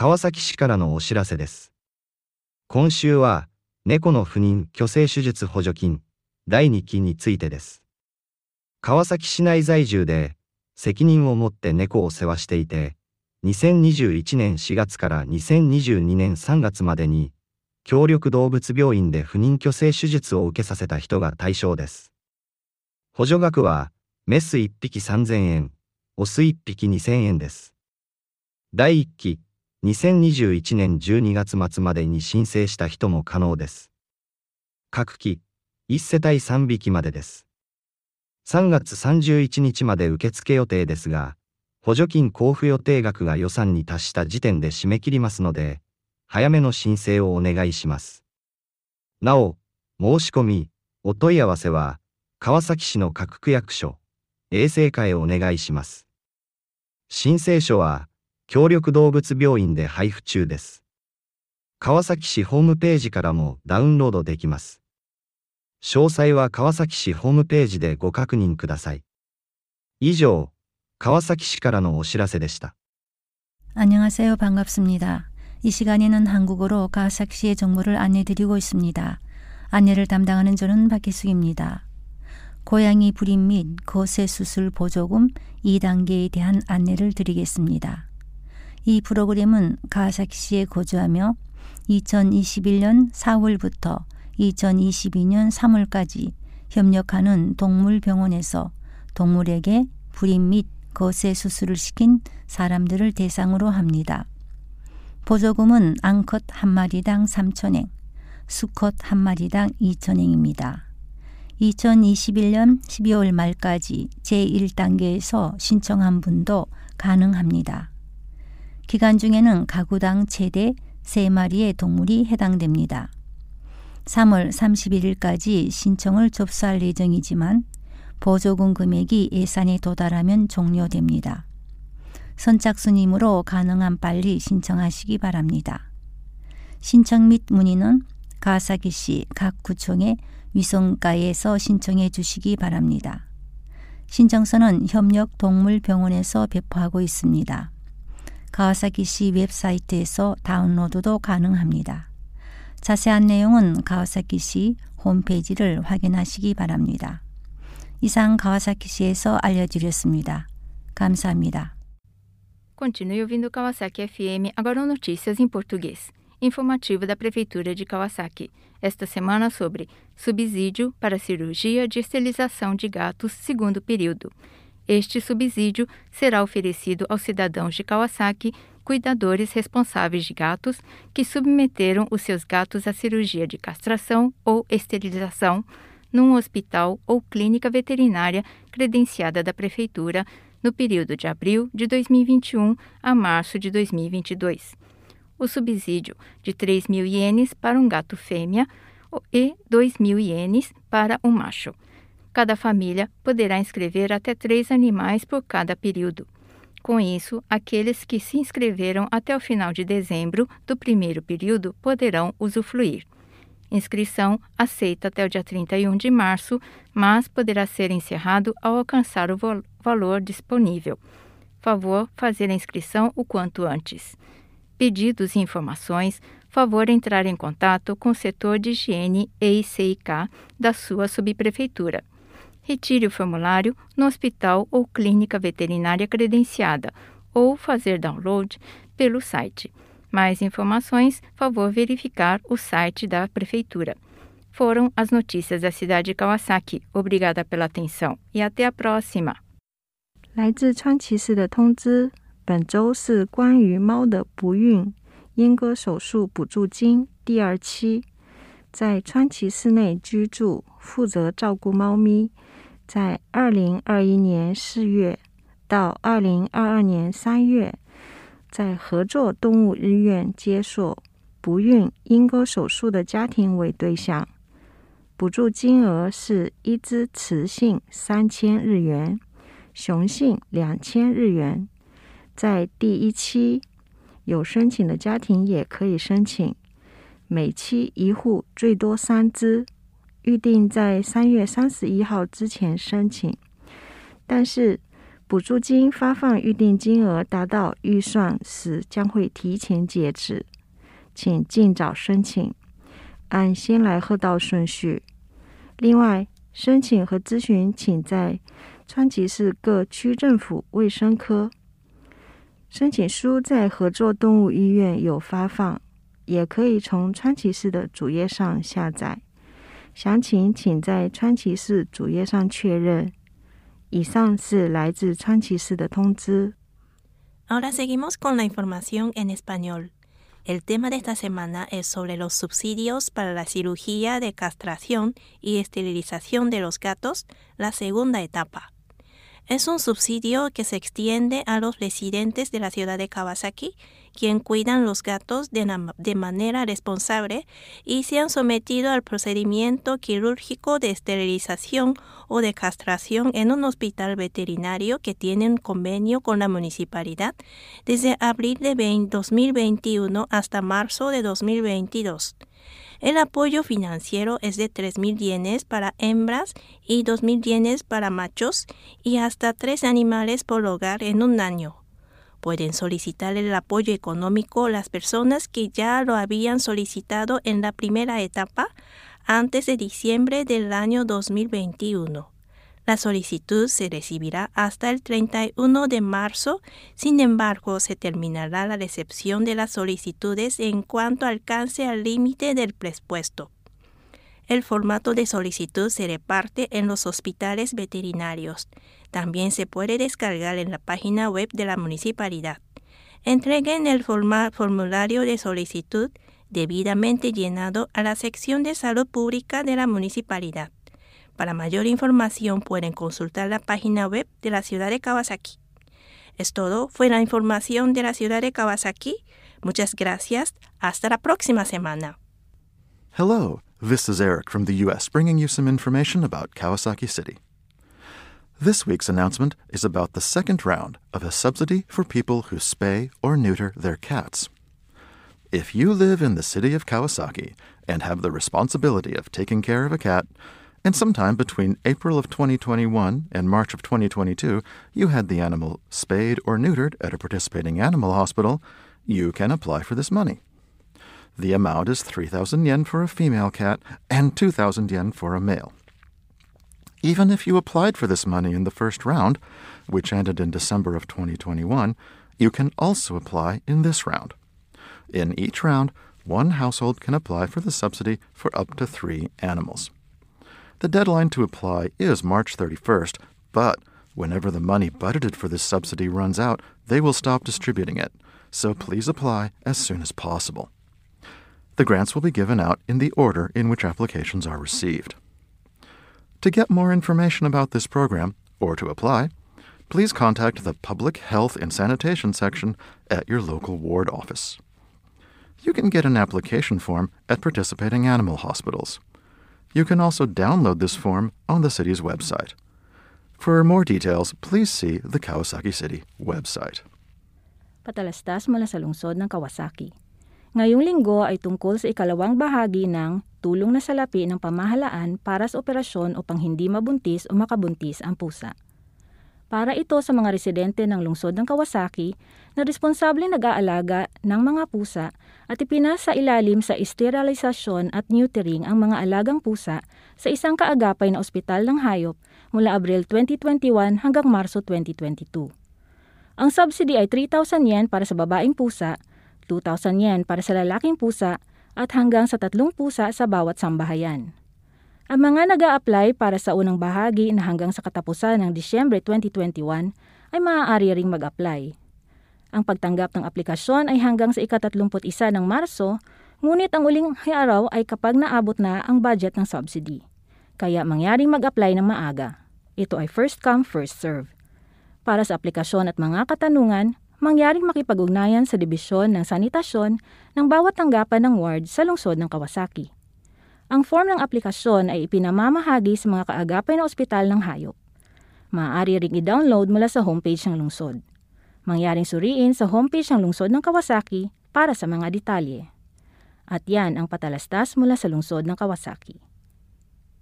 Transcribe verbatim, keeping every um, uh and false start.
川崎市からのお知らせです。今週は、猫の不妊・去勢手術補助金、だいにきについてです。川崎市内在住で、責任を持って猫を世話していて、にせんにじゅういちねんしがつからにせんにじゅうにねんさんがつまでに、協力動物病院で不妊去勢手術を受けさせた人が対象です。補助額は、メスいっぴきさんぜんえん、オスいっぴきにせんえんです。だいいっき、にせんにじゅういちねんじゅうにがつまつまでに申請した人も可能です。各期、いちせたいさんびきまでです。さんがつさんじゅういちにちまで受付予定ですが、補助金交付予定額が予算に達した時点で締め切りますので、早めの申請をお願いします。なお、申し込み、お問い合わせは、川崎市の各区役所、衛生課へお願いします。申請書は、協力動物病院で配布中です。川崎市ホームページからもダウンロードできます。詳細は川崎市ホームページでご確認ください。以上、川崎市からのお知らせでした。 안녕하세요. 반갑습니다. 이 시간에는 한국어로 가와사키시의 정보를 안내드리고 있습니다. 안내를 담당하는 저는 박희숙입니다. 고양이 불임 및 거세 수술 보조금 이 단계에 대한 안내를 드리겠습니다. 이 프로그램은 가와사키시에 거주하며 이천이십일 년 사월부터 이천이십이 년 삼월까지 협력하는 동물병원에서 동물에게 불임 및 거세 수술을 시킨 사람들을 대상으로 합니다. 보조금은 암컷 한 마리당 삼천 엔, 수컷 한 마리당 이천 엔입니다. 이천이십일 년 십이월 말까지 제일 단계에서 신청한 분도 가능합니다. 기간 중에는 가구당 최대 세 마리의 동물이 해당됩니다. 삼월 삼십일 일까지 신청을 접수할 예정이지만 보조금 금액이 예산에 도달하면 종료됩니다. 선착순이므로 가능한 빨리 신청하시기 바랍니다. 신청 및 문의는 가와사키시 각 구청의 위성과에서 신청해 주시기 바랍니다. 신청서는 협력동물병원에서 배포하고 있습니다. 가와사키시 웹사이트에서 다운로드도 가능합니다. 자세한 내용은 가와사키시 홈페이지를 확인하시기 바랍니다. 이상 가와사키시에서 알려드렸습니다. 감사합니다. Continue ouvindo Kawasaki F M, agora notícias em português. Informativo da Prefeitura de Kawasaki. Esta semana sobre subsídio para cirurgia de esterilização de gatos segundo período. Este subsídio será oferecido aos cidadãos de Kawasaki, cuidadores responsáveis de gatos, que submeteram os seus gatos à cirurgia de castração ou esterilização num hospital ou clínica veterinária credenciada da Prefeitura no período de abril de dois mil e vinte e um a março de dois mil e vinte e dois. O subsídio de três mil ienes para um gato fêmea e dois mil ienes para um macho. Cada família poderá inscrever até três animais por cada período. Com isso, aqueles que se inscreveram até o final de dezembro do primeiro período poderão usufruir. Inscrição aceita até o dia trinta e um de março, mas poderá ser encerrado ao alcançar o val- valor disponível. Favor fazer a inscrição o quanto antes. Pedidos e informações, favor entrar em contato com o setor de higiene e I C I K da sua subprefeitura. Retire o formulário no hospital ou clínica veterinária credenciada ou fazer download pelo site. Mais informações, favor verificar o site da Prefeitura. Foram as notícias da cidade de Kawasaki. Obrigada pela atenção e até a próxima. 来自川崎市的通知，本周是关于猫的不孕阉割手术补助金第二期。在川崎市内居住、负责照顾猫咪，在二零二一年四月到二零二二年三月，在合作动物医院接受不孕阉割手术的家庭为对象，补助金额是一只雌性三千日元，雄性两千日元。在第一期有申请的家庭也可以申请，每期一户最多三只，预定在三月三十一号之前申请。但是补助金发放预定金额达到预算时将会提前截止，请尽早申请，按先来后到顺序。另外，申请和咨询请在川崎市各区政府卫生科。申请书在合作动物医院有发放，也可以从川崎市的主页上下载。详情请在川崎市主页上确认。以上是来自川崎市的通知。 Ahora seguimos con la información en español. El tema de esta semana es sobre los subsidios para la cirugía de castración y esterilización de los gatos, la segunda etapa. Es un subsidio que se extiende a los residentes de la ciudad de Kawasaki, quienes cuidan los gatos de, de manera responsable y se han sometido al procedimiento quirúrgico de esterilización o de castración en un hospital veterinario que tiene un convenio con la municipalidad desde abril de dos mil veintiuno hasta marzo de dos mil veintidós. El apoyo financiero es de tres mil yenes para hembras y dos mil yenes para machos y hasta tres animales por hogar en un año. Pueden solicitar el apoyo económico las personas que ya lo habían solicitado en la primera etapa antes de diciembre del año dos mil veintiuno. La solicitud se recibirá hasta el treinta y uno de marzo, sin embargo, se terminará la recepción de las solicitudes en cuanto alcance al límite del presupuesto. El formato de solicitud se reparte en los hospitales veterinarios. También se puede descargar en la página web de la municipalidad. Entreguen el formulario de solicitud debidamente llenado a la sección de salud pública de la municipalidad. Para mayor información pueden consultar la página web de la ciudad de Kawasaki. Es todo, fue la información de la ciudad de Kawasaki. Muchas gracias. Hasta la próxima semana. Hello, this is Eric from the U S bringing you some information about Kawasaki City. This week's announcement is about the second round of a subsidy for people who spay or neuter their cats. If you live in the city of Kawasaki and have the responsibility of taking care of a cat, and sometime between April of twenty twenty-one and March of twenty twenty-two, you had the animal spayed or neutered at a participating animal hospital, you can apply for this money. The amount is three thousand yen for a female cat and two thousand yen for a male. Even if you applied for this money in the first round, which ended in December of twenty twenty-one, you can also apply in this round. In each round, one household can apply for the subsidy for up to three animals. The deadline to apply is March thirty-first, but whenever the money budgeted for this subsidy runs out, they will stop distributing it, so please apply as soon as possible. The grants will be given out in the order in which applications are received. To get more information about this program, or to apply, please contact the Public Health and Sanitation section at your local ward office. You can get an application form at participating animal hospitals. You can also download this form on the city's website. For more details, please see the Kawasaki City website. Patalastas mula sa lungsod ng Kawasaki. Ngayong linggo ay tungkol sa ikalawang bahagi ng tulong na salapi ng pamahalaan para sa operasyon upang hindi mabuntis o makabuntis ang pusa. Para ito sa mga residente ng lungsod ng Kawasaki na responsable nag-aalaga ng mga pusa at ipinasa ilalim sa esterilisasyon at neutering ang mga alagang pusa sa isang kaagapay na ospital ng hayop mula Abril twenty twenty-one hanggang Marso twenty twenty-two. Ang subsidy ay three thousand yen para sa babaeng pusa, two thousand yen para sa lalaking pusa at hanggang sa tatlong pusa sa bawat sambahayan. Ang mga nag-a-apply para sa unang bahagi na hanggang sa katapusan ng Disyembre twenty twenty-one ay maaari ring mag-apply. Ang pagtanggap ng aplikasyon ay hanggang sa ikatatlumput isa ng Marso, ngunit ang uling araw ay kapag naabot na ang budget ng subsidy. Kaya mangyaring mag-apply ng maaga. Ito ay first come, first serve. Para sa aplikasyon at mga katanungan, mangyaring makipag-ugnayan sa Dibisyon ng Sanitasyon ng bawat tanggapan ng ward sa lungsod ng Kawasaki. Ang form ng aplikasyon ay ipinamamahagi sa mga kaagapay na ospital ng hayop. Maaari ring i-download mula sa homepage ng lungsod. Mangyaring suriin sa homepage ng lungsod ng Kawasaki para sa mga detalye. At yan ang patalastas mula sa lungsod ng Kawasaki.